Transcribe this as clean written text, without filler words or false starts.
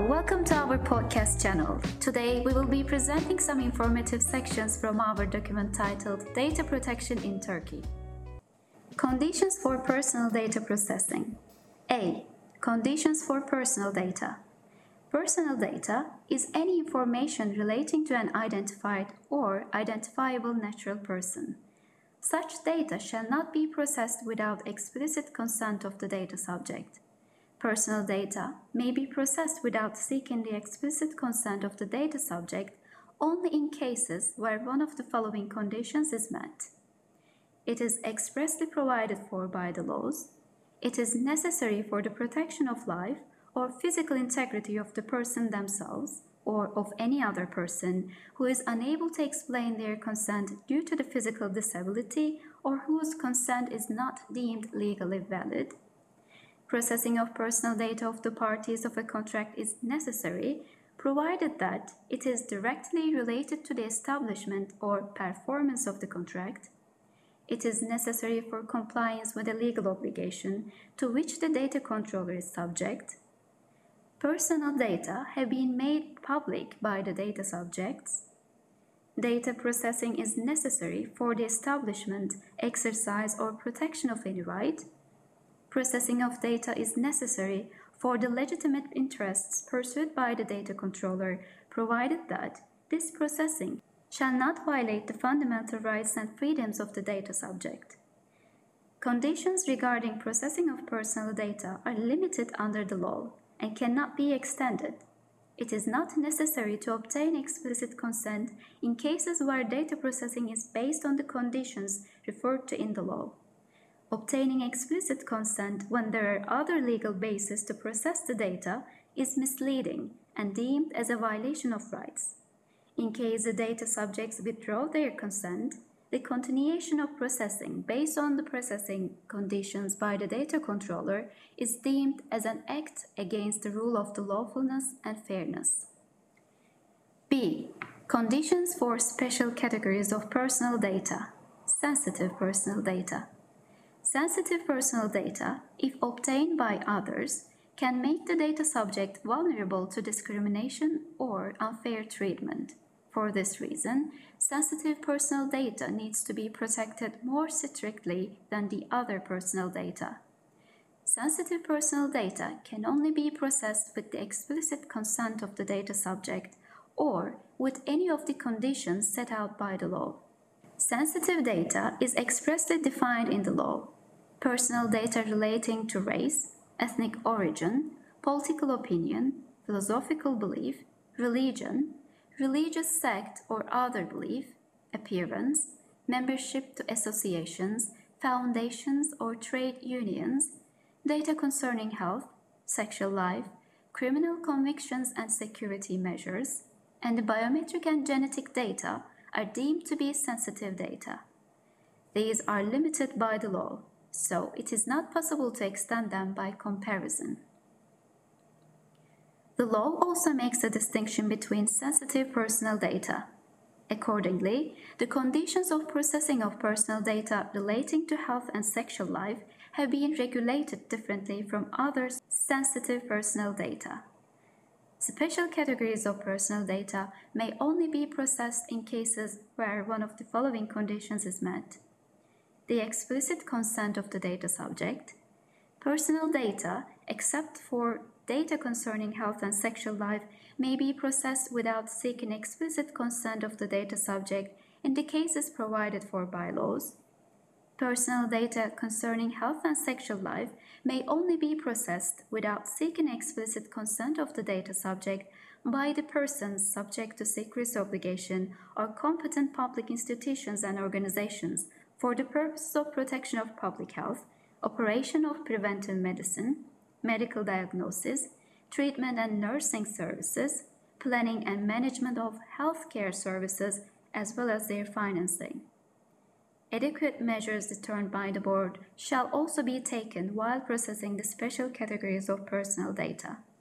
welcome to our podcast channel. Today we will be presenting some informative sections from our document titled Data Protection in Turkey. Conditions for personal data processing. A. Conditions for personal data. Personal data is any information relating to an identified or identifiable natural person. Such data shall not be processed without explicit consent of the data subject. Personal data may be processed without seeking the explicit consent of the data subject only in cases where one of the following conditions is met. It is expressly provided for by the laws. It is necessary for the protection of life or physical integrity of the person themselves or of any other person who is unable to explain their consent due to the physical disability or whose consent is not deemed legally valid. Processing of personal data of the parties of a contract is necessary, provided that it is directly related to the establishment or performance of the contract. It is necessary for compliance with a legal obligation to which the data controller is subject. Personal data have been made public by the data subjects. Data processing is necessary for the establishment, exercise, or protection of any right. Processing of data is necessary for the legitimate interests pursued by the data controller, provided that this processing shall not violate the fundamental rights and freedoms of the data subject. Conditions regarding processing of personal data are limited under the law and cannot be extended. It is not necessary to obtain explicit consent in cases where data processing is based on the conditions referred to in the law. Obtaining explicit consent when there are other legal bases to process the data is misleading and deemed as a violation of rights. In case the data subjects withdraw their consent, the continuation of processing based on the processing conditions by the data controller is deemed as an act against the rule of the lawfulness and fairness. B. Conditions for special categories of personal data. Sensitive personal data. Sensitive personal data, if obtained by others, can make the data subject vulnerable to discrimination or unfair treatment. For this reason, sensitive personal data needs to be protected more strictly than the other personal data. Sensitive personal data can only be processed with the explicit consent of the data subject or with any of the conditions set out by the law. Sensitive data is expressly defined in the law. Personal data relating to race, ethnic origin, political opinion, philosophical belief, religion, religious sect or other belief, appearance, membership to associations, foundations or trade unions, data concerning health, sexual life, criminal convictions and security measures, and the biometric and genetic data are deemed to be sensitive data. These are limited by the law, so it is not possible to extend them by comparison. The law also makes a distinction between sensitive personal data. Accordingly, the conditions of processing of personal data relating to health and sexual life have been regulated differently from other sensitive personal data. Special categories of personal data may only be processed in cases where one of the following conditions is met: the explicit consent of the data subject. Personal data, except for data concerning health and sexual life, may be processed without seeking explicit consent of the data subject in the cases provided for by laws. Personal data concerning health and sexual life may only be processed without seeking explicit consent of the data subject by the persons subject to secrecy obligation or competent public institutions and organizations for the purposes of protection of public health, operation of preventive medicine, medical diagnosis, treatment and nursing services, planning and management of healthcare services, as well as their financing. Adequate measures determined by the board shall also be taken while processing the special categories of personal data.